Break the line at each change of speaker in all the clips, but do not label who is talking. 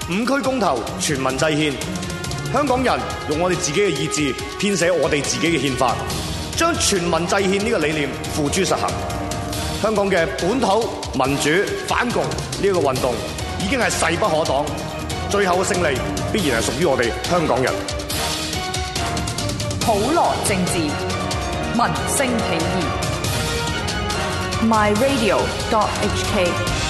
5區公投，全民制憲，香港人用我哋自己嘅意志編寫我哋自己嘅憲法，將全民制憲呢個理念付諸實行。香港嘅本土民主反共呢個運動已經係勢不可擋，最後嘅勝利必然係屬於我哋香港人。
普羅政治，民聲起義。myradio.hk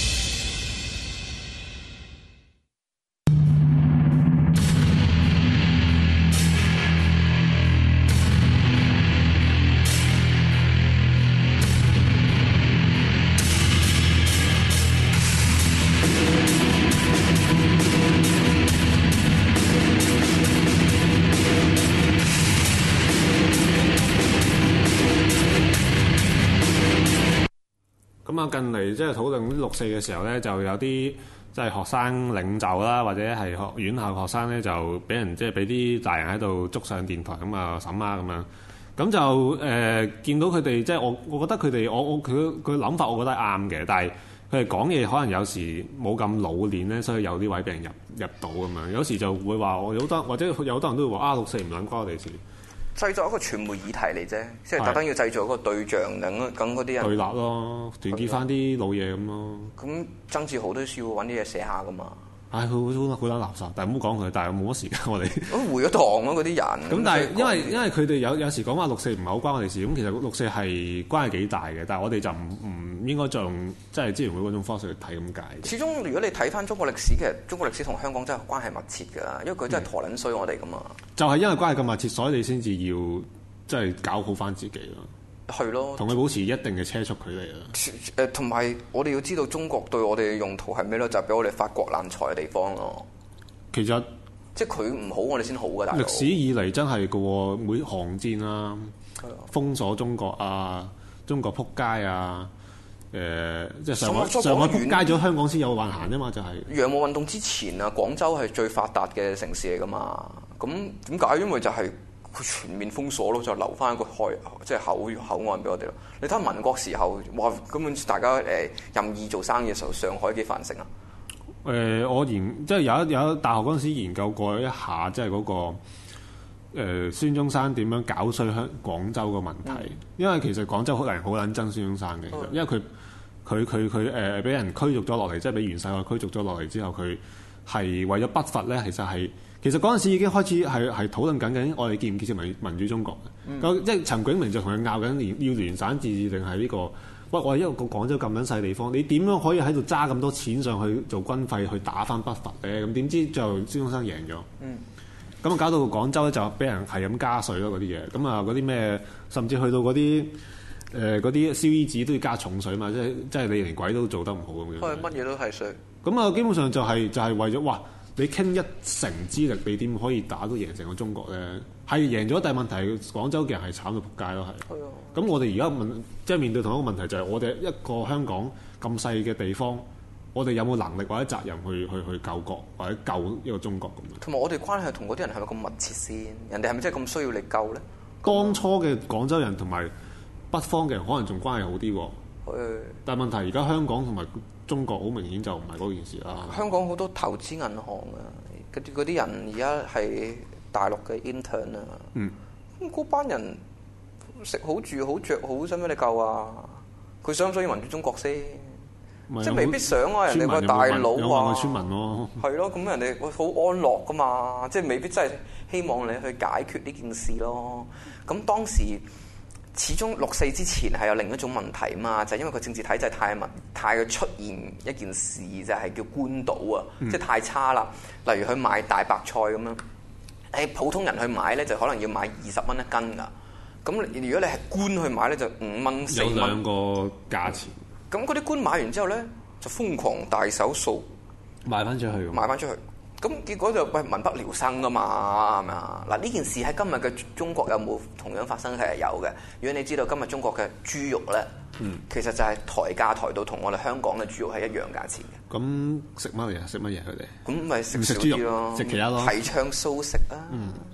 近嚟即係討論六四嘅時候咧，就有啲即係學生領袖啦，或者係院校學生咧，就俾人即係俾啲大人喺度捉上電台咁啊審啊咁樣。咁就見到佢哋即係我覺得佢哋佢諗法，我覺得係啱嘅。但係佢哋講嘢可能有時冇咁老練咧，所以有啲位俾人入到咁樣。有時就會話我有好多，或者有好多人都會話六四唔撚關我哋事。
製作一個傳媒議題嚟啫，即係特登要製造一個對象，等嗰啲人
對立咯，團結翻啲老嘢咁咯。
咁曾志豪都需要揾啲嘢寫下噶嘛。
佢好撚垃圾，但係唔好講佢，但係冇乜時間我哋。
咁回咗堂咯，嗰啲人。咁
但係因為佢哋有時講話六四唔係好關我哋事，咁其實六四係關係幾大嘅，但係我哋就唔應該再用即係支聯會嗰種方式去睇咁解。
始終如果你睇翻中國歷史，其實中國歷史同香港真係關係密切㗎，因為佢真係陀撚衰我哋㗎嘛。就係
因為關係咁密切，所以你先至要即係搞好翻自己咯。
係咯，
同佢保持一定嘅車速距離啦。
同埋我哋要知道中國對我哋嘅用途係咩咯？就係俾我哋發國難財嘅地方咯。其實即係佢唔好，我哋先好㗎。大佬歷
史以嚟真係嘅喎，每航戰啊，封鎖中國啊，中國撲街啊，即係上海撲街咗，香港先有運行啫嘛，就係
洋務運動之前啊，廣州係最發達嘅城市嚟㗎嘛。咁點解？因為就係佢全面封鎖咯，就留翻一個即係口岸俾我哋咯。你睇下民國時候，哇！根本大家任意做生意嘅時候，上海幾繁盛啊！
我即係有大學嗰陣時研究過一下，即係嗰個孫中山點樣搞衰廣州嘅問題。因為其實廣州好撚憎孫中山嘅，因為佢俾人驅逐咗落嚟，即係俾袁世凱驅逐咗落嚟之後，佢係為咗北伐咧，其實嗰陣時已經開始係討論緊我哋建唔建設民主中國嘅。即係陳炯明就同佢拗緊，要聯省自治定係呢個？喂，我係一個廣州咁撚細地方，你點樣可以喺度揸咁多錢上去做軍費去打翻北伐咧？咁點知最後孫中山贏咗。咁搞到廣州咧就俾人係咁加稅咯，嗰啲嘢。咁啊嗰啲咩，甚至去到嗰啲燒衣紙都要加重稅嘛，即係你連鬼都做得唔好咁樣。
乜嘢都係稅。咁
啊，基本上就係為咗哇！你傾一成之力，你點可以打到贏成個中國咧？係贏咗，但係問題廣州嘅人係慘到仆街咯，係。咁我哋而家即係面對同一個問題，就係我哋一個香港咁細嘅地方，我哋有冇能力或者責任去救國或者救一個中國咁樣？同埋我哋關係同嗰啲人係咪咁密切先？人哋係咪真係咁需要你救咧？當初嘅廣州人同埋北方嘅人可能仲關係好啲喎。但係問題而家香港同埋中國好明顯就唔係嗰件事啦。香港好多投資銀行啊，嗰啲人而家係大陸嘅 intern 啊。咁嗰班人食好住好着好，使唔使你救啊？佢想唔想要民主中國先？即係未必想啊！人哋個大佬啊，村民咯，係咯，咁人哋好安樂噶嘛，即係未必真係希望你去解決呢件事咯。咁當時始終六四之前係有另一種問題嘛，就係因為個政治體制太出現一件事，就係叫官倒啊，即係太差啦。例如佢賣大白菜咁樣，普通人去買咧就可能要買20蚊一斤噶。咁如果你係官去買咧，就5蚊4蚊。有兩個價錢。咁嗰啲官買完之後咧，就瘋狂大手掃賣翻出去。咁結果就民不聊生噶嘛，係咪啊？嗱，呢件事喺今日嘅中國有冇同樣發生？係有嘅。如果你知道今日中國嘅豬肉咧，其實就係抬價抬到同我哋香港嘅豬肉係一樣價錢嘅。咁食乜嘢？佢哋咁咪食少啲咯，食其他咯，提倡素食啊。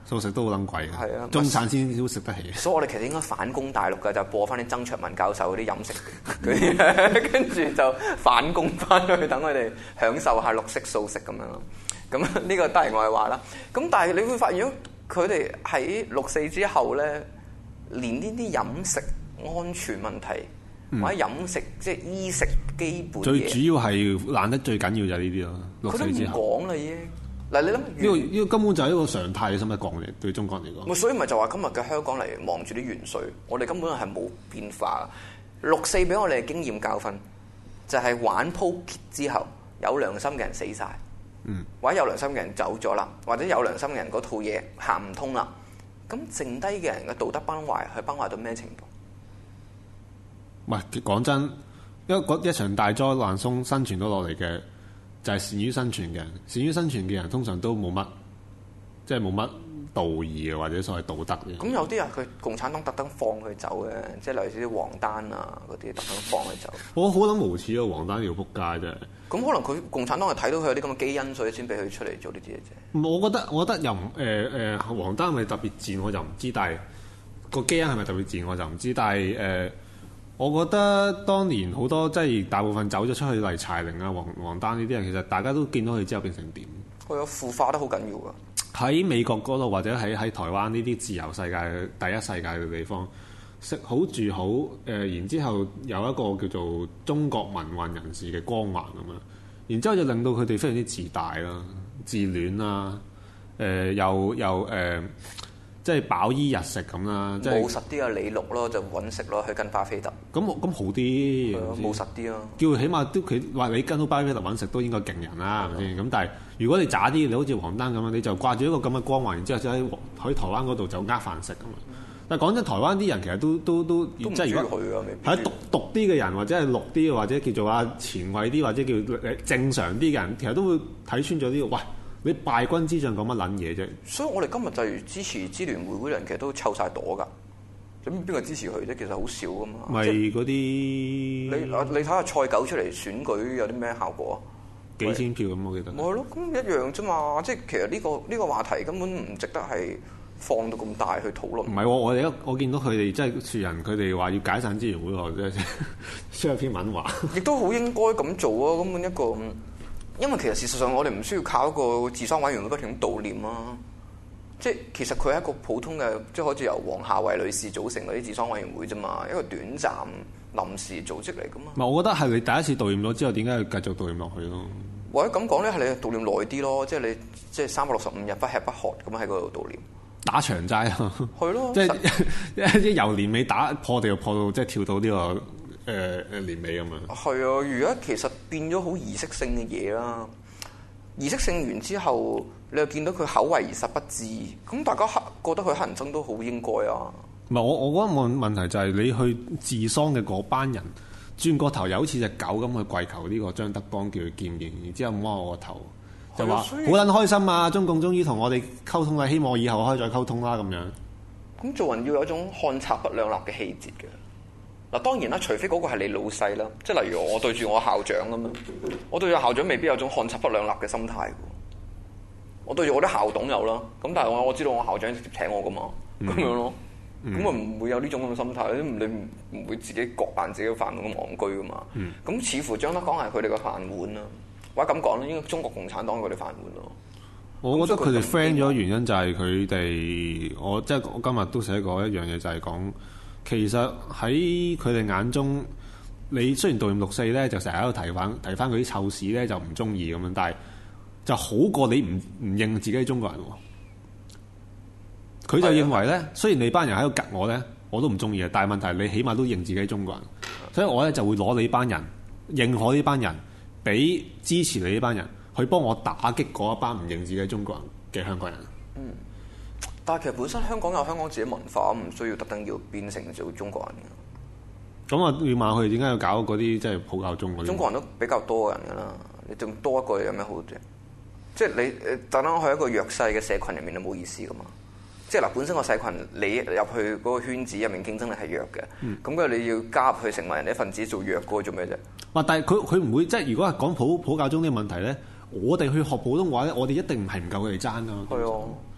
素食都好撚貴
係啊，
中產先都食得起。
所以我哋其實應該反攻大陸嘅，就播翻啲曾卓文教授嗰啲飲食嗰啲，跟住就反攻翻去，等佢哋享受下綠色素食咁樣咯。咁呢個當然我係話啦。咁但係你會發現，佢哋喺6·4之後咧，連呢啲飲食安全問題，或者飲食即係衣食基本
最
嘢，
主要係爛得最緊要就係呢啲咯。
佢都唔
6·4之後
講啦已經。嗱，你諗
呢個根本就係一個常態嘅，使乜講嚟？對中國人嚟講，
所以咪就話今日嘅香港嚟望住啲元帥，我哋根本係冇變化。6·4俾我哋嘅經驗教訓，就係玩鋪揭之後，有良心嘅人死晒，或者有良心嘅人走咗啦，或者有良心嘅人嗰套嘢行唔通啦，咁剩低嘅人嘅道德崩壞，係崩壞到咩程度？
唔係講真，因為一場大災難生存到落嚟嘅，就係善於生存嘅人。善於生存嘅人通常都冇乜，即係冇乜道義嘅，或者所謂道德嘅。
咁有啲人佢共產黨特登放佢走嘅，即係例如啲黃丹啊嗰啲特登放佢走。
我好撚無恥啊！黃丹條撲街啫。
咁可能佢共產黨係睇到佢有啲咁嘅基因，所以先俾佢出嚟做呢啲嘢啫。
我覺得又唔黃丹係咪特別賤我就唔知，但係個基因係咪特別賤我就唔知，但係我覺得當年好多即係大部分走咗出去嚟柴玲啊、黃丹呢啲人，其實大家都見到佢之後變成點？
佢有腐化得好緊要㗎。
喺美國嗰度或者喺台灣呢啲自由世界、第一世界嘅地方，食好住好，然之後有一個叫做中國民運人士嘅光環咁樣，然之後就令到佢哋非常之自大啦、自戀啦，又即係飽衣日食咁啦，即係
務實啲啊，李錄咯，就揾食咯，去跟巴菲特。
咁好啲，
務實啲咯。
叫佢起碼都佢話你跟到巴菲特揾食都應該勁人啦，係咪先？咁但係如果你渣啲，你好似黃丹咁樣，你就掛住一個咁嘅光環，然之後就喺台灣嗰度就飯食咁嘛。但係講真，台灣啲人其實都即係如果係讀啲嘅人，或者係綠啲，或者叫做前衞啲，或者叫正常啲嘅人，其實都會睇穿咗呢個。喂，你敗軍之將講乜撚嘢啫？
所以我哋今日就係支持支聯會嗰啲人，其實都湊晒朵㗎。咁邊個支持佢啫？其實好少㗎嘛。
咪嗰啲
你睇下蔡狗出嚟選舉有啲咩效果啊？
幾千票咁，我記得。
咪係咯，咁一樣啫嘛。即係其實呢個話題根本唔值得係放到咁大去討論。唔
係喎，我見到佢哋即係樹人，佢哋話要解散支聯會喎，即係出一篇文話。亦都好應該咁做啊！根本一個。因為其實事實上我哋唔需要靠一個治喪委員會不停悼念啊，即係其實佢係一個普通嘅，即係好似由黃夏蕙女士組成嗰啲治喪委員會啫嘛，一個短暫臨時組織嚟噶嘛。唔係，我覺得係你第一次悼念咗之後，點解要繼續悼念落去咯？或者咁講咧，係你悼念耐啲咯，即係你即係365日不吃不喝咁喺嗰度悼念。打長齋啊！係咯，即係由年尾打破地又破到即係跳到呢個。年尾咁樣係啊！而家其實變咗好儀式性嘅嘢啦。儀式性完之後，你又見到佢口惠而實不至，咁大家覺得佢黑人憎都好應該啊。唔係我覺得問題就係你去治喪嘅嗰班人轉個頭，又好似隻狗咁去跪求呢個張德江叫佢見面，然之後摸我個頭，就話好撚開心啊！中共終於同我哋溝通啦，希望以後可以再溝通啦咁樣。咁做人要有一種看賊不兩立嘅氣節嘅。嗱當然啦，除非嗰個係你老細啦，即係例如我對住我校長咁樣，我對住校長未必有種看賊不兩立嘅心態嘅。我對住我啲校董有啦，咁但係我知道我校長直接請我噶嘛，咁樣咯，咁啊唔會有呢種咁嘅心態，你唔會自己割爛自己嘅飯碗咁戇居噶嘛。咁似乎張德江係佢哋嘅飯碗啦，或者咁講咧，應該中國共產黨係佢哋飯碗咯。我覺得佢哋 friend 咗原因就係佢哋，我今日都寫過一樣嘢，就係講。其實喺佢哋眼中，你雖然悼念6·4咧，就成日喺度提翻佢啲臭屎咧，就唔中意咁樣，但係就好過你唔認自己係中國人喎。佢就認為咧，雖然你班人喺度夾我咧，我都唔中意嘅，但係問題你起碼都認自己係中國人，所以我咧就會攞你班人認可呢班人，俾支持你呢班人去幫我打擊嗰一班唔認自己係中國人嘅香港人。但係其實本身香港有香港自己文化，唔需要特登要變成做中國人嘅。咁啊，要問佢點解要搞嗰啲即係普教中嗰啲？中國人都比較多人㗎啦，你仲多一個有咩好啫？即係你特登去一個弱勢嘅社群入面，就冇意思㗎嘛。即係嗱，本身個社群你入去嗰個圈子入面競爭力係弱嘅，咁佢你要加入去成為人哋一份子做弱嗰個做咩啫？哇！但係佢唔會即係如果係講普教中呢個問題咧，我哋去學普通話咧，我哋一定唔係唔夠佢哋爭㗎。係啊。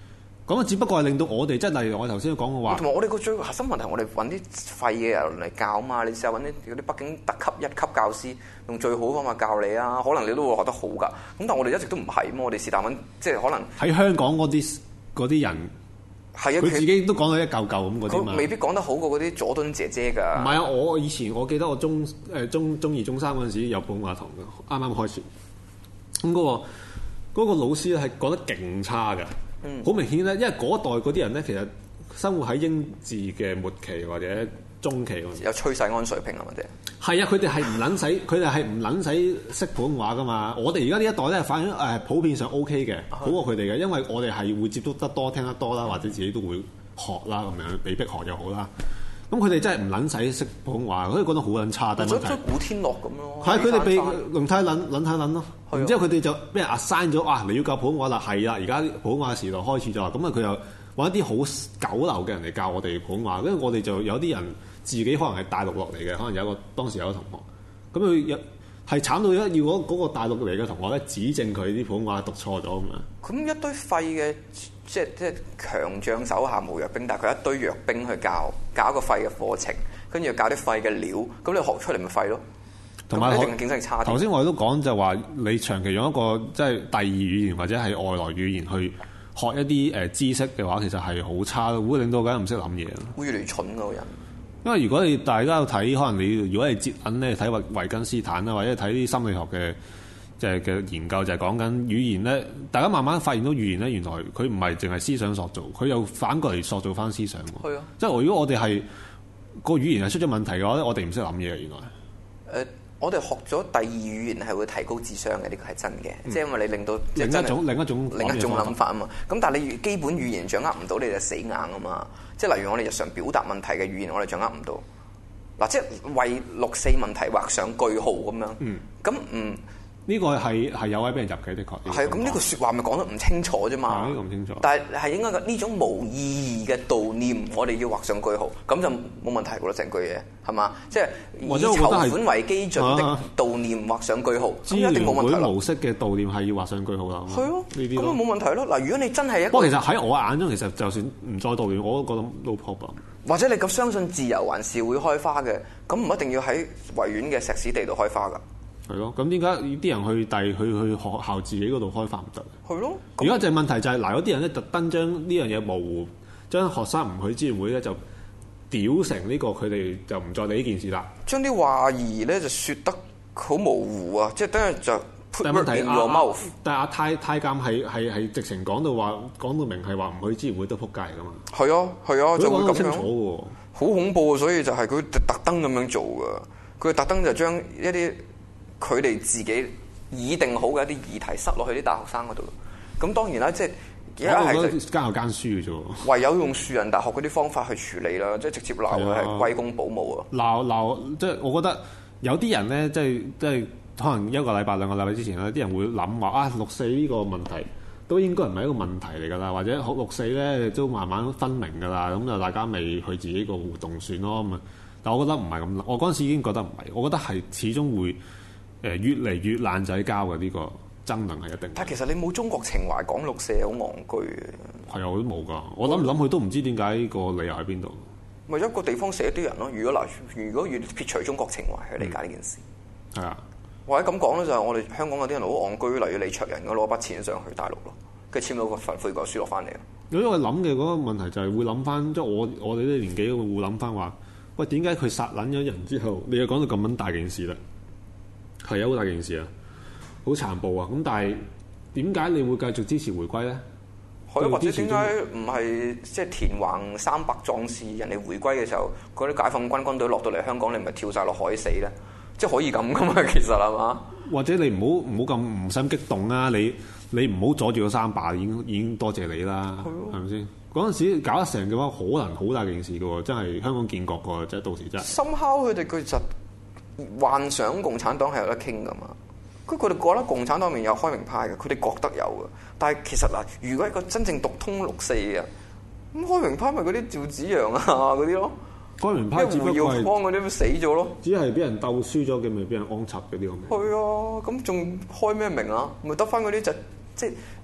咁啊，只不過係令到我哋即係例如我頭先講嘅話，
同埋我哋個最核心問題，我哋揾啲廢嘅人嚟教嘛。你試下揾啲北京特級一級教師，用最好嘅方法教你啊，可能你都會學得好㗎。咁但係我哋一直都唔係咁，我哋是但揾即係可能
喺香港嗰啲人係啊，佢自己都講到一嚿嚿咁嗰啲嘛，
佢未必講得好過嗰啲佐敦姐姐㗎。
唔係啊，我以前我記得我中二、中三嗰陣時有普通話堂嘅，啱啱開始咁嗰個老師咧係講得勁差㗎。好明顯咧，因為嗰代嗰啲人咧，其實生活喺英治嘅末期或者中期嗰陣時，
有崔世安水平啊嘛，啲
係啊，佢哋係唔撚使，佢哋係唔撚使識普通話噶嘛。我哋而家呢一代咧，反而普遍上 OK 嘅，好過佢哋嘅，因為我哋係會接觸得多、聽得多啦，或者自己都會學啦，咁樣被逼學又好啦。咁佢哋真係唔撚使識普通話，佢哋覺得好撚差。但係問題
古天樂咁咯，
係佢哋被輪太撚咯。然之後佢哋就俾人 assign 咗，哇！你要教普通話啦，係啦，而家普通話時代開始咗，咁啊佢又揾一啲好九流嘅人嚟教我哋普通話，因為我哋就有啲人自己可能係大陸落嚟嘅，可能有一個當時有一個同學，咁佢係慘到要嗰個大陸嚟嘅同學咧指正佢啲普通話讀錯咗咁樣。
咁一堆廢嘅，即係強將手下無弱兵，但係佢一堆弱兵去教一個廢嘅課程，跟住又教啲廢嘅料，咁你學出嚟咪廢咯。
同埋
一定競爭力差啲。
頭先我哋都講就話，你長期用一個即係第二語言或者係外來語言去學一啲知識嘅話，其實係好差咯，會令到大家唔識諗嘢。
會越嚟越蠢嗰個人。
因為如果大家有睇，可能你如果係接緊咧睇維根斯坦啦，或者睇啲心理學嘅嘅研究，就係講緊語言咧，大家慢慢發現到語言咧，原來佢唔係淨係思想塑造，佢又反過嚟塑造翻思想。係啊，即係如果我哋係個語言係出咗問題嘅話咧，我哋唔識諗嘢嘅原來。
我哋學咗第二語言係會提高智商嘅，呢個係真嘅，即係因為你令到
另一種
諗法啊嘛。咁但係你基本語言掌握唔到，你就死硬啊嘛。即係例如我哋日常表達問題嘅語言，我哋掌握唔到。嗱，即係為六四問題畫上句號咁樣。咁
呢個係有位俾人入嘅，的確。
係啊，咁呢個説話咪講得唔清楚啫嘛。
呢個唔清楚。
但係應該呢種無意義嘅悼念，我哋要畫上句號，咁就冇問題㗎啦，成句嘢係嘛？即係以籌款為基準的悼念畫上句號，咁一定冇問題啦。
模式嘅悼念係要畫上句號啦。
係咯，呢啲咁冇問題咯。嗱，如果你真係一個，
不過其實喺我眼中，其實就算唔再悼念，我都覺得 no problem。
或者你咁相信自由還是會開花嘅，咁唔一定要喺維園嘅石屎地度開花㗎。
係咯，咁點解啲人去學校自己嗰度開花唔得？
係咯，
而家就係問題就係嗱，有啲人咧特登將呢樣嘢模糊，將學生唔去支援會咧就屌成呢個，佢哋就唔再理呢件事啦。將
啲話兒咧就説得好模糊啊，即係等於就 put word in your mouth。
但係阿太監係直情講到明係話唔去支援會都撲街㗎嘛。
係啊，就會咁樣
清楚喎，
好恐怖啊！所以就係佢特登咁樣做㗎，佢特登就將一啲佢哋自己擬定好嘅一啲議題塞落去啲大學生嗰度。咁當然啦，即係而家係
間有間書嘅啫。
唯有用樹仁大學嗰啲方法去處理啦，即係直接鬧佢係龜公保姆啊！
鬧即係我覺得有啲人咧，即係可能一個禮拜兩個禮拜之前咧，啲人會諗話啊，六四呢個問題都應該唔係一個問題嚟㗎啦，或者六四咧都慢慢分明㗎啦，咁就大家咪去自己個活動算咯咁啊。但我覺得唔係咁，我嗰陣時已經覺得唔係，我覺得係始終會越嚟越爛仔交嘅呢個爭論係一定。
但係其實你冇中國情懷講六四係好戇居嘅。
係啊，我都冇㗎，我諗嚟諗去都唔知點解個理由喺邊度。
咪一個地方寫啲人咯。如果要撇除中國情懷去理解呢件事，
係啊。
或者咁講咧，就係我哋香港嗰啲人好戇居，例如李卓人咁攞筆錢上去大陸咯，跟住簽咗個份悔過書落翻嚟。
因為諗嘅嗰個問題就係會諗翻，即係我哋啲年紀會諗翻話，喂，點解佢殺撚咗人之後，你又講到咁撚大件事啦？係啊，好大件事啊，好殘暴啊！咁但係點解你會繼續支持回歸咧？
或者點解唔係即係田橫300壯士人哋回歸嘅時候，嗰啲解放軍軍隊落到嚟香港，你咪跳晒落海死咧？即係可以咁噶嘛？其實係嘛？或者
你唔好咁唔使激動啊！你唔好阻住個300，已經多謝你啦，係咪先？嗰陣時搞得成嘅話，可能好大件事嘅喎，真係香港建國嘅，即係到時真係。深
敲佢哋佢就幻想共產黨係有得傾噶嘛？佢哋覺得共產黨面有開明派嘅，佢哋覺得有嘅。但係其實嗱，如果一個真正讀通六四嘅，咁開明派咪嗰啲趙紫陽啊嗰啲咯。
開明派只不過係胡耀
邦嗰啲死咗咯，
只係俾人鬥輸咗嘅，咪俾人安插嗰啲咁。
係啊，咁仲開咩名啊？咪得翻嗰啲就即係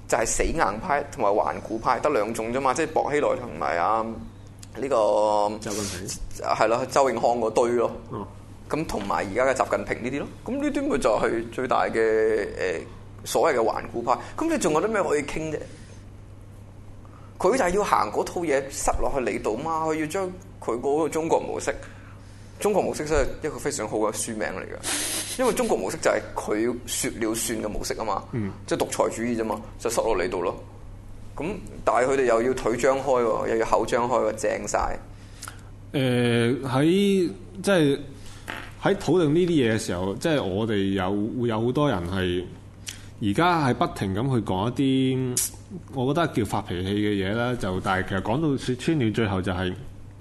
就係死硬派同埋頑固派，得兩種啫嘛，即係薄熙來同埋呢個
習近平
係咯，周永康嗰堆咯。
哦，
咁同埋而家嘅習近平呢啲咯，咁呢啲咪就係最大嘅所謂嘅頑固派。咁你仲有啲咩可以傾啫？佢就係要行嗰套嘢塞落去你度嘛，佢要將佢嗰個中國模式。中國模式真係一個非常好嘅書名嚟㗎，因為中國模式就係佢説了算嘅模式啊嘛，即係獨裁主義啫嘛，就塞落你度咯。咁但係佢哋又要腿張開喎，又要口張開喎，正晒。
喺即係喺討論呢啲嘢嘅時候，即係我哋會有好多人係而家係不停咁去講一啲，我覺得叫發脾氣嘅嘢啦。就但係其實講到説穿了，最後就係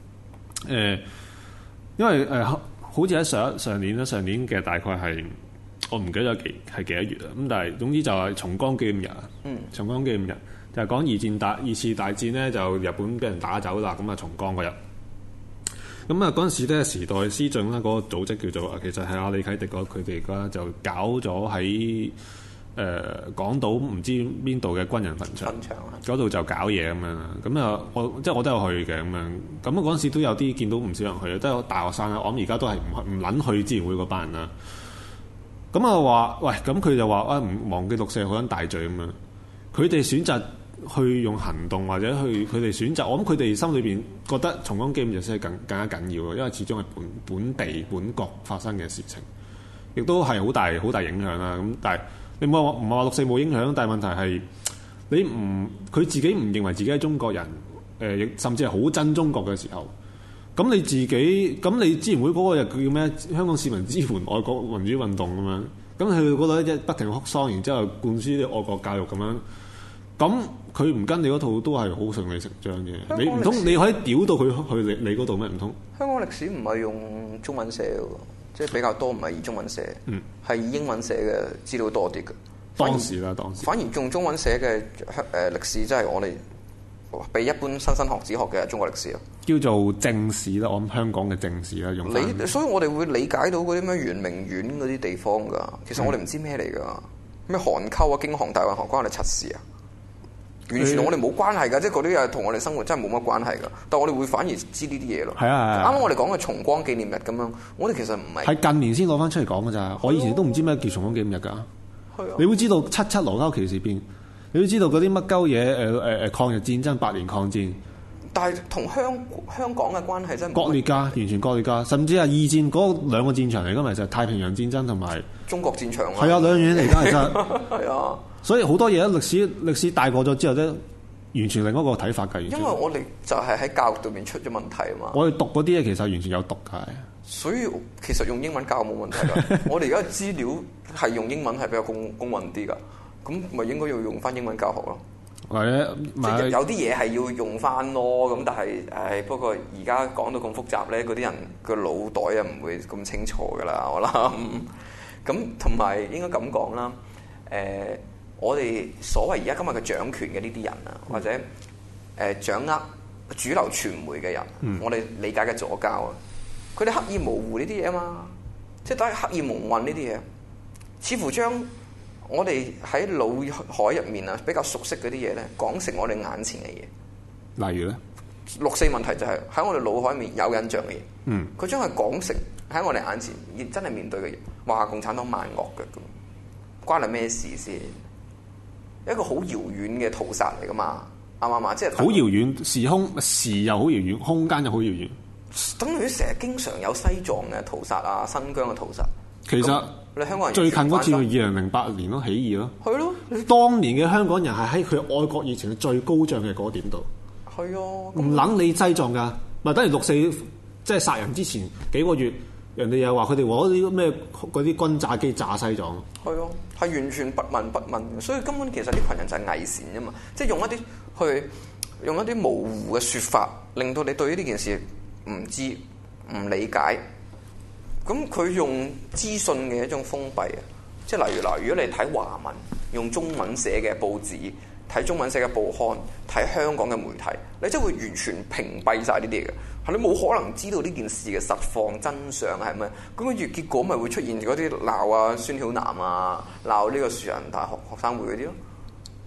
因為好似喺上年啦，上年嘅大概係我唔記得咗係幾多月啦。咁但係總之就係重光紀念日啊。重光紀念日就係講二次大戰咧，就日本俾人打走啦。咁啊重光嗰日，咁啊嗰陣時咧，時代思進啦嗰個組織叫做其實係阿李啟迪佢哋而家就搞咗喺港島唔知邊度嘅軍人墳場嗰度就搞嘢咁樣啦。咁啊我都有去嘅咁樣。咁啊嗰陣時都有啲見到唔少人去嘅，都有大學生啦。我諗而家都係唔撚去支援會嗰班人啦。咁啊話喂，咁佢就話唔忘記六四好撚大罪咁樣。佢哋選擇去用行動或者去佢哋選擇，我諗佢哋心裏邊覺得重光紀念日先係更加緊要嘅，因為始終係本地本國發生嘅事情，亦都係好大影響啦。咁但係你唔係話六四冇影響，但係問題係佢自己唔認為自己係中國人，甚至係好憎中國嘅時候，咁你支援會嗰個日叫咩？香港市民支援愛國民主運動咁樣，咁佢嗰度一不停哭喪，然之後灌輸啲愛國教育咁樣，咁佢唔跟你嗰套都係好順理成章嘅。你唔通你可以屌到佢去你嗰度咩？唔通
香港歷史唔係用中文寫嘅，即係比較多唔係以中文寫，係以英文寫嘅資料多啲嘅。當時反而用中文寫嘅歷史，即係我哋比一般新學子學嘅中國歷史啊，叫
做正史啦。我諗香港嘅正史啦，用
所以我哋會理解到嗰啲咩圓明園嗰啲地方㗎。其實我哋唔知咩嚟㗎，咩韓溝啊、京杭大運河關我哋柒事啊，完全同我哋冇關係㗎。即係嗰啲嘢同我哋生活真係冇乜關係㗎。但係我哋會反而知呢啲嘢咯。係啊，啱啱我哋講嘅重光紀念日咁樣，我哋其實唔係
係近年先攞翻出嚟講㗎咋。我以前都唔知咩叫重光紀念日㗎。你會知道77羅溝旗事變，你會知道嗰啲乜鳩嘢抗日戰爭、8年抗戰，
但係同香港嘅關係真係
割裂㗎，完全割裂㗎，甚至係二戰嗰兩個戰場嚟㗎嘛，就係太平洋戰爭同埋
中國戰場。
係啊，兩樣嘢嚟㗎，其實
係啊，
所以好多嘢歷史大過咗之後咧，完全另一個睇法㗎。
因為我哋就係喺教育度面出咗問題啊嘛。
我哋讀嗰啲嘢其實完全有毒㗎。
所以其實用英文教冇問題㗎。我哋而家資料係用英文係比較公允啲㗎，咁咪應該要用翻英文教學咯。
或者
即係有啲嘢係要用翻咯。咁但係不過而家講到咁複雜咧，嗰啲人個腦袋啊唔會咁清楚㗎啦。我諗咁同埋應該咁講啦。我哋所謂而家今日嘅掌權嘅呢啲人啊，或者掌握主流傳媒嘅人，我哋理解嘅左膠啊。佢哋刻意模糊呢啲嘢啊嘛，即係都係刻意蒙混呢啲嘢，似乎將我哋喺腦海入面啊比較熟悉嗰啲嘢咧，講成我哋眼前嘅嘢。
例如咧，
六四問題就係喺我哋腦海入面有印象嘅嘢。佢將佢講成喺我哋眼前真係面對嘅嘢，話共產黨萬惡嘅咁，關你咩事先？一個好遙遠嘅屠殺嚟噶嘛，啱唔啱啊？即係好
遙遠，時又好遙遠，空間又好遙遠。
等於成日經常有西藏嘅屠殺啊、新疆嘅屠殺。
其實
你香港人
最近嗰次係2008年咯，起義咯。
係咯，
當年嘅香港人係喺佢愛國熱情最高漲嘅嗰點度。
係啊，
唔撚你西藏㗎，咪等於六四即係殺人之前幾個月，人哋又話佢哋攞啲咩嗰啲轟炸機炸西藏。
係啊，係完全不聞不問，所以根本其實呢群人就係偽善啫嘛，即係用一啲模糊嘅説法，令到你對於呢件事唔知唔理解，咁佢用資訊嘅一種封閉啊，即係例如嗱，如果你睇華文用中文寫嘅報紙，睇中文寫嘅報刊，睇香港嘅媒體，你真係會完全屏蔽晒呢啲嘢嘅，係你冇可能知道呢件事嘅實況真相係咩？咁跟住結果咪會出現嗰啲鬧啊孫曉南啊，鬧呢個樹仁大學學生會嗰啲咯。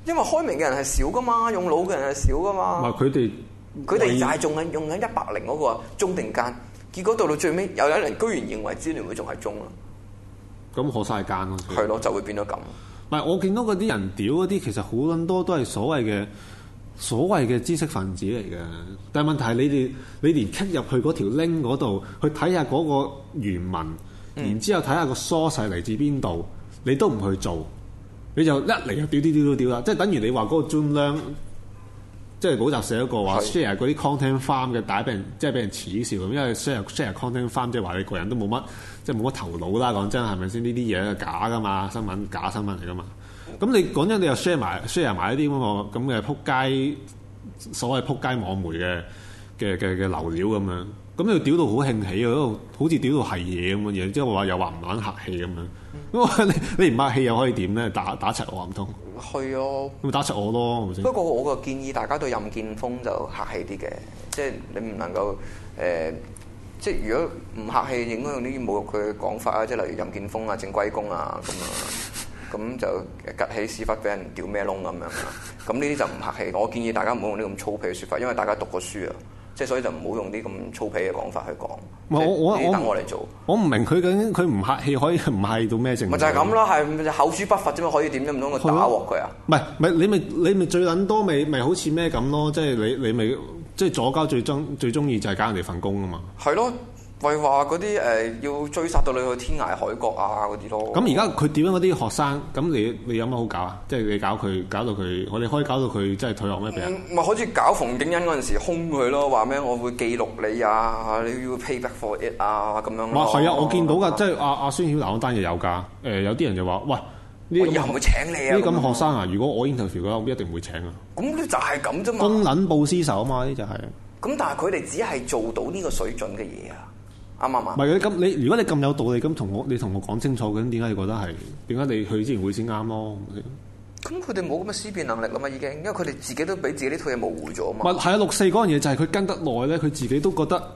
因為開明嘅人係少噶嘛，用腦嘅人係少噶嘛。
唔係佢哋
就係用緊100嗰個中定奸，結果到最尾有人居然認為支聯會仲係中啦。
咁可晒奸咯。
係咯，就會變咗咁。
唔係我見到嗰啲人屌嗰啲，其實好撚多都係所謂嘅知識分子嚟嘅。但係問題係你連 click 入去嗰條 link 嗰度去睇下嗰個原文，然之後睇下個 source 嚟自邊度，你都唔去做，你就一嚟就屌啦，即係等於你話嗰個 Zoom 量，即係補習社一個話 share 嗰啲 content farm 嘅，大家俾人恥笑咁，因為 share content farm 即係話你個人都冇乜，即係冇乜頭腦啦。講真係咪先？呢啲嘢係假噶嘛，假新聞嚟噶嘛。咁你講真，你又 share 埋一啲咁嘅撲街，所謂撲街網媒嘅流料咁樣，咁你屌到好興起啊，好似屌到係嘢咁嘅嘢，即係話又話唔撚客氣咁樣。咁你唔客氣又可以點咧？打柒我唔通？係啊，咁打柒我咯，係咪先？不過
我個建議大家對任建峰就客氣啲嘅，即係你唔能夠即係如果唔客氣，應該用啲侮辱佢嘅講法啊，即係例如任建峰啊、正歸公啊咁啊。咁就趌起屎忽俾人屌咩窿咁樣，咁呢啲就唔客氣。我建議大家唔好用啲咁粗鄙嘅説法，因為大家讀過書啊，即係所以就唔好用啲咁粗鄙嘅講法去講。我等我嚟做。我唔明佢究竟佢唔客氣可以唔客氣到咩程度？咪就係咁咯，係口誅筆伐啫嘛，可以點啫？唔通我打鑊佢啊？唔係你咪最撚多咪好似咩咁咯？即係你咪即係左膠最中意就係搞人哋份工啊嘛。係咯。為話嗰啲要追殺到你去天涯海角啊嗰啲咯。咁而家佢點樣嗰啲學生？咁你有乜好搞啊？即係你搞到佢，我哋可以搞到佢真係退學咩？俾人咪好似搞馮景恩嗰陣時兇佢咯，話咩我會記錄你啊，你要 pay back for it 啊咁樣。係啊，我見到㗎，即係阿孫曉南嗰單嘢有㗎。有啲人就話：喂，我以後唔會請你啊！呢啲咁學生啊，如果我 interview 嘅話，我一定唔會請啊。咁你就係咁啫嘛。公撚報私仇啊嘛，呢就係。咁但係佢哋只係做到呢個水準嘅嘢啊。啱唔啱？唔係咁如果你咁有道理，咁你同我講清楚，咁點解你覺得係？點解你去之前會先啱咯？咁佢哋冇咁嘅思辨能力啦嘛，已經，因為佢哋自己都俾自己呢套嘢模糊咗啊嘛。係啊，64嗰樣嘢就係佢跟得耐咧，佢自己都覺得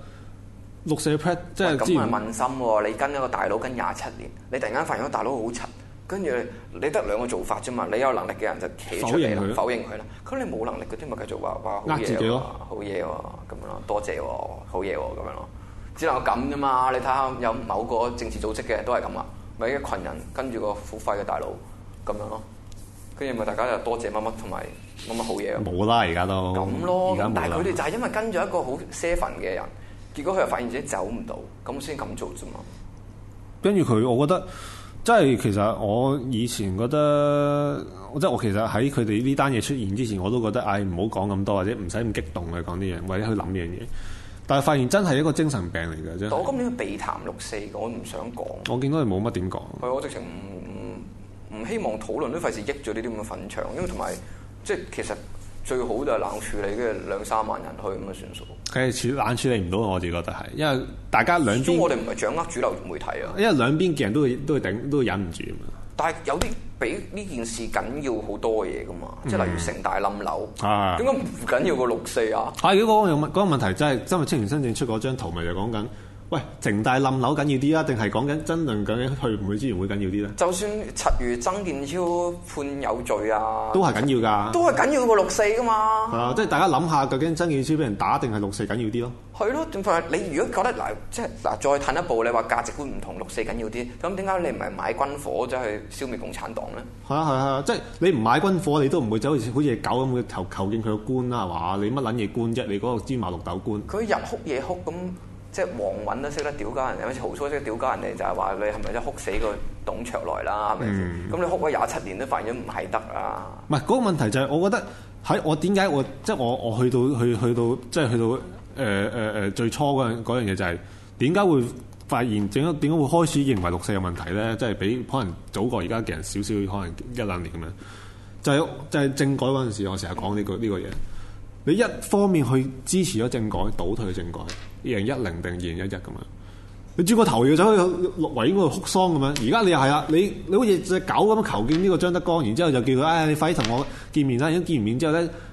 64 prep 即係之前。咁係問心喎，你跟一個大佬跟27年，你突然間發現個大佬好柒，跟住你得兩個做法啫嘛。你有能力嘅人就企出嚟啦，否認佢啦。咁你冇能力嗰啲咪繼續話好嘢喎，好嘢喎咁樣咯，多謝喎，好嘢喎咁樣咯。只能夠咁啫嘛！你睇下有某個政治組織嘅都係咁啊，咪一群人跟住個付費嘅大佬咁樣咯，跟住咪大家就多謝乜乜同埋乜乜好嘢咯。冇啦，而家都咁咯。但係佢哋就係因為跟咗一個好 seven 嘅人，結果佢又發現自己走唔到，咁先咁做啫嘛。跟住佢，我覺得即係其實我以前覺得，即係我其實喺佢哋呢單嘢出現之前，我都覺得唔好講咁多，或者唔使咁激動去講啲嘢，或者去諗呢樣嘢。但係發現真係一個精神病嚟嘅啫。我今年避談64，我唔想講。我見到佢冇乜點講。係我直情唔希望討論，都費事益咗呢啲咁嘅粉腸，因為同埋即係其實最好就係冷處理，跟住2-3萬人去咁就算數。係冷處理唔到，我自己覺得係，因為大家兩邊。我哋唔係掌握主流媒體啊。因為兩邊嘅人都會忍唔住啊嘛。但係有啲比呢件事緊要好多嘢噶嘛，即係例如城大冧樓，點解唔緊要過64啊？係嗰個問題真係，今日青年新政出嗰張圖咪就講緊，喂，城大冧樓緊要啲啊，定係講緊真正究竟去唔去支援會緊要啲咧？就算7月曾健超判有罪啊，都係緊要㗎，都係緊要過64㗎嘛。即係大家諗下，究竟曾健超俾人打定係64緊要啲咯？係咯，點解你如果覺得即係再褪一步，你話價值觀唔同，64緊要啲，咁點解你唔係買軍火走去消滅共產黨咧？係啊，即係你唔買軍火，你都唔會走好似狗咁去求見佢個官啦，係嘛？你乜撚嘢官啫？你嗰個芝麻綠豆官，佢日哭夜哭咁。即係黃韻都識得屌鳩人哋，好似豪蘇識得屌鳩人哋，就係話你係咪真係哭死個董卓來啦？係咪先？咁你哭咗27年都發現咗唔係得啊！唔係嗰個問題就係，我覺得喺我點解我即係我去到即係去到最初嗰樣嘢就係點解會發現點解會開始認為64有問題咧？即係比可能早過而家嘅人少少，可能1-2年咁樣。就係政改嗰陣時，我成日講呢個嘢。你一方面去支持咗政改，倒退政改，2010定2011咁樣，你轉個頭要走去陸維應該哭喪咁樣。而家你又係啦，你好似隻狗咁求見呢個張德江，然之後就叫佢，你快啲同我見面啦。已經見完面之後咧，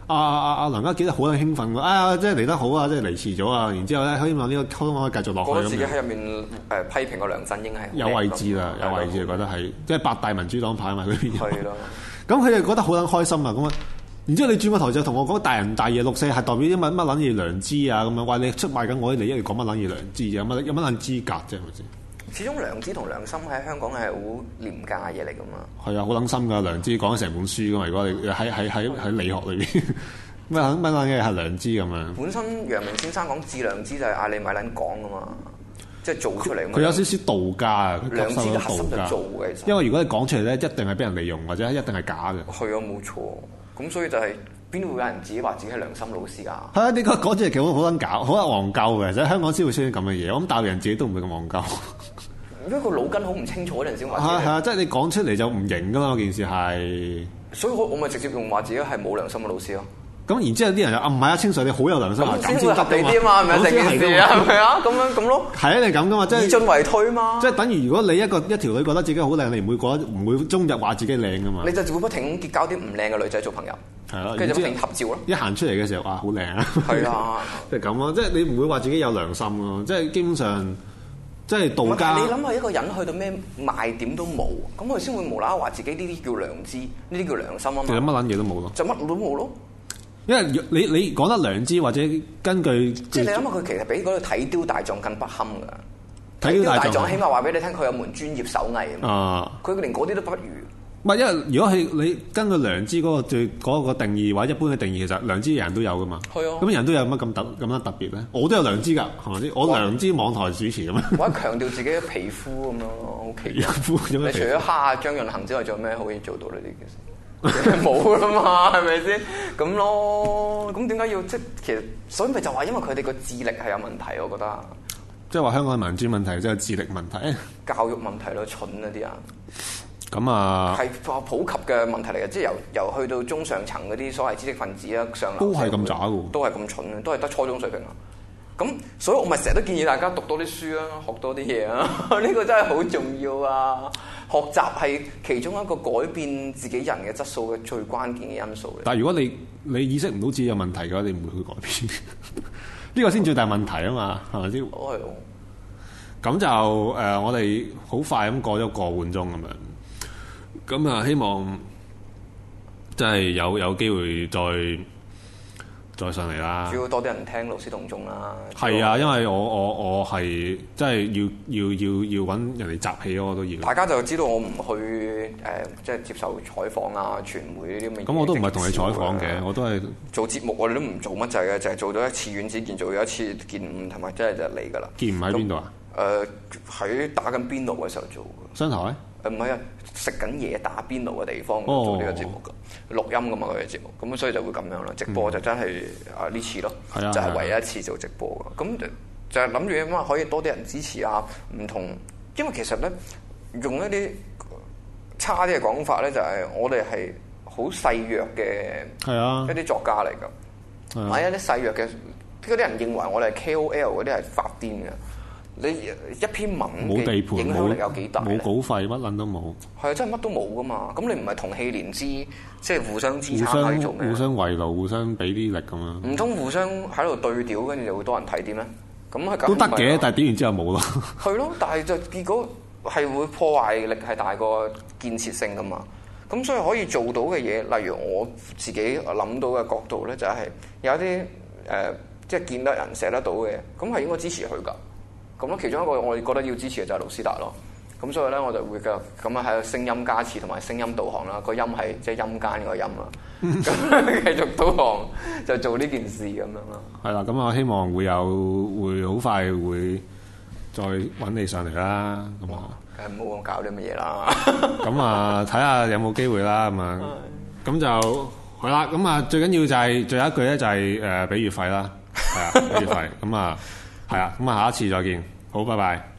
梁家傑都好撚興奮喎，即係嚟得好啊，即係嚟遲咗啊，然之後咧希望呢個溝通可以繼續落去。
覺得自己喺入面批評個梁振英係
有位置啦，有位置覺得係即係8大民主黨派嘛嗰邊。
係咯，
咁佢哋覺得好撚開心啊咁啊！然之後你轉個頭就同我講大人大爺6·4係代表啲乜撚嘢良知啊咁樣，話你出賣緊我啲利益，你講乜撚嘢良知啊？有乜撚資格啫？係咪先？
始終良知同良心喺香港係好廉價嘢嚟噶嘛。
係啊，好撚心㗎良知，講成本書㗎嘛。如果你喺理學裏邊，乜撚嘢係良知咁樣？
本身楊明先生講致良知就係嗌你咪撚講㗎嘛，即係做出嚟。
佢有少少道家啊，佢
良知嘅
道
核心就
家
做嘅。
因為如果你講出嚟咧，一定係俾人利用或者一定係假嘅。
係啊，冇錯。咁所以就係邊會有人自己話自己係良心老師㗎？
係啊，呢個講出嚟其實好撚搞，好撚戇鳩嘅。其實香港先會出現咁嘅嘢，我諗大陸人自己都唔會咁戇鳩。
因為個腦筋好唔清楚嗰陣先話。
係啊，即係你講出嚟就唔型㗎嘛，件事係。
所以我咪直接用話自己係冇良心嘅老師咯。
咁然之後啲人就唔係啊，清水你好有良心啊，
咁先會合理啲啊嘛，係咪成件事啊？係咪啊？咁咯。係
啊，你咁噶嘛，即係以
進為退嘛。
即係等於如果你一條女覺得自己好靚，你唔會終日話自己靚噶嘛。
你就會不停結交啲唔靚嘅女仔做朋友。
係咯，
跟住就不停合照咯。
一行出嚟嘅時候，哇，好靚啊！
係啊，
即係咁咯，即係你唔會話自己有良心咯，即係基本上即係道家。
你諗下一個人去到咩賣點都冇，咁佢先會無啦啦話自己呢啲叫良知，呢啲叫良心啊嘛。
其實乜撚嘢都冇咯。
就乜都冇咯。
因為你講得良知或者根據
即係你諗下佢其實比嗰個睇雕大狀更不堪㗎。
睇雕大
狀起碼話俾你聽，佢有門專業手藝
啊。
佢連嗰啲都不如。
唔係，因為如果係你根據良知嗰個定義或者一般嘅定義，其實良知人都有噶嘛。係啊。咁人都有乜咁樣特別咧？我都有良知㗎，係咪先？我良知網台主持咁樣。
或者強調自己嘅皮膚咁樣咯，好奇怪。你除咗蝦張潤衡之外，仲有咩可以做到呢啲嘅事？冇啦嘛，係咪先？咁咯，咁點解要即係其實，所以咪就話因為佢哋個智力係有問題，我覺得。
即係話香港嘅民主問題，即係智力問題。
教育問題咯，蠢啊啲人。
咁啊，
係普及嘅問題嚟嘅，即係由去到中上層嗰啲所謂知識分子啊，上流
都係咁渣嘅，
都係咁蠢嘅，都係得初中水平啊。咁所以我咪成日都建議大家讀多啲書啊，學多啲嘢啊，呢個真係好重要啊！學習係其中一個改變自己人嘅質素嘅最關鍵嘅因素嚟。
但係如果你意識唔到自己有問題嘅話，你唔會去改變。呢個先最大問題啊嘛，係咪先？
係。
咁就我哋好快咁過咗個半鐘咁樣。咁啊，希望即係有機會再上嚟啦。
主要多啲人聽勞師動眾啦。
係啊，因為我係即係要揾人哋集氣咯，我都要。
大家就知道我唔去即係接受採訪啊、傳媒呢啲咁嘅。
咁我都唔係同你採訪嘅，我都係做
節目，我哋都唔做乜滯嘅，就係做咗一次院子見，做咗一次見五，同埋即係就嚟㗎啦。
見五喺邊度啊？
喺打緊邊爐嘅時候做嘅。商
台？
唔係啊，食緊嘢打邊爐嘅地方做呢個節目㗎，錄音㗎嘛佢嘅節目，咁所以就會咁樣啦。直播就真係呢次咯，就係唯一一次做直播㗎。咁就係諗住咁啊，可以多啲人支持啊，唔同，因為其實咧用一啲差啲嘅講法咧，就係我哋係好細弱嘅一啲作家嚟㗎，係一啲細弱嘅嗰啲人認為我哋係 KOL 嗰啲係發癲嘅。你一篇文
冇地盤，
影響力有幾大？
冇稿費，乜撚都冇。
係啊，真係乜都冇噶嘛！咁你唔係同氣連枝，即係互相支撐去做咩？
互相圍爐，互相俾啲力咁樣。
唔通互相喺度對調，跟住就會多人睇啲咩？咁係
都得嘅，但係點完之後冇咯。
係咯，但係就結果係會破壞力係大過建設性噶嘛。咁所以可以做到嘅嘢，例如我自己諗到嘅角度咧，就係有啲即係見得人寫得到嘅，咁係應該支持佢㗎。咁咯，其中一個我哋覺得要支持嘅就係盧斯達咯。咁所以咧，我就會繼續咁啊喺度聲音加持同埋聲音導航啦。個音係即係陰間個音啦。咁繼續導航就做呢件事咁樣咯。
係啦，咁我希望會好快會再揾你上嚟啦。咁啊，
梗係唔好搞啲乜嘢啦。
咁啊，睇下有冇機會啦。咁啊，咁就係啦。咁啊，最緊要就係最後一句咧，就係俾月費啦。係啊，俾月費。咁啊。係啊，咁啊，下一次再見，好，拜拜。